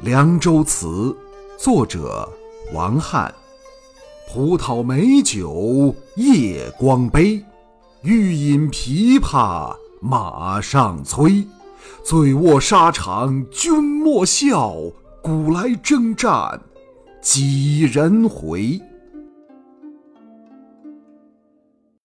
凉州词》作者王翰。葡萄美酒夜光杯，欲饮琵琶马上催。醉卧沙场君莫笑，古来征战几人回。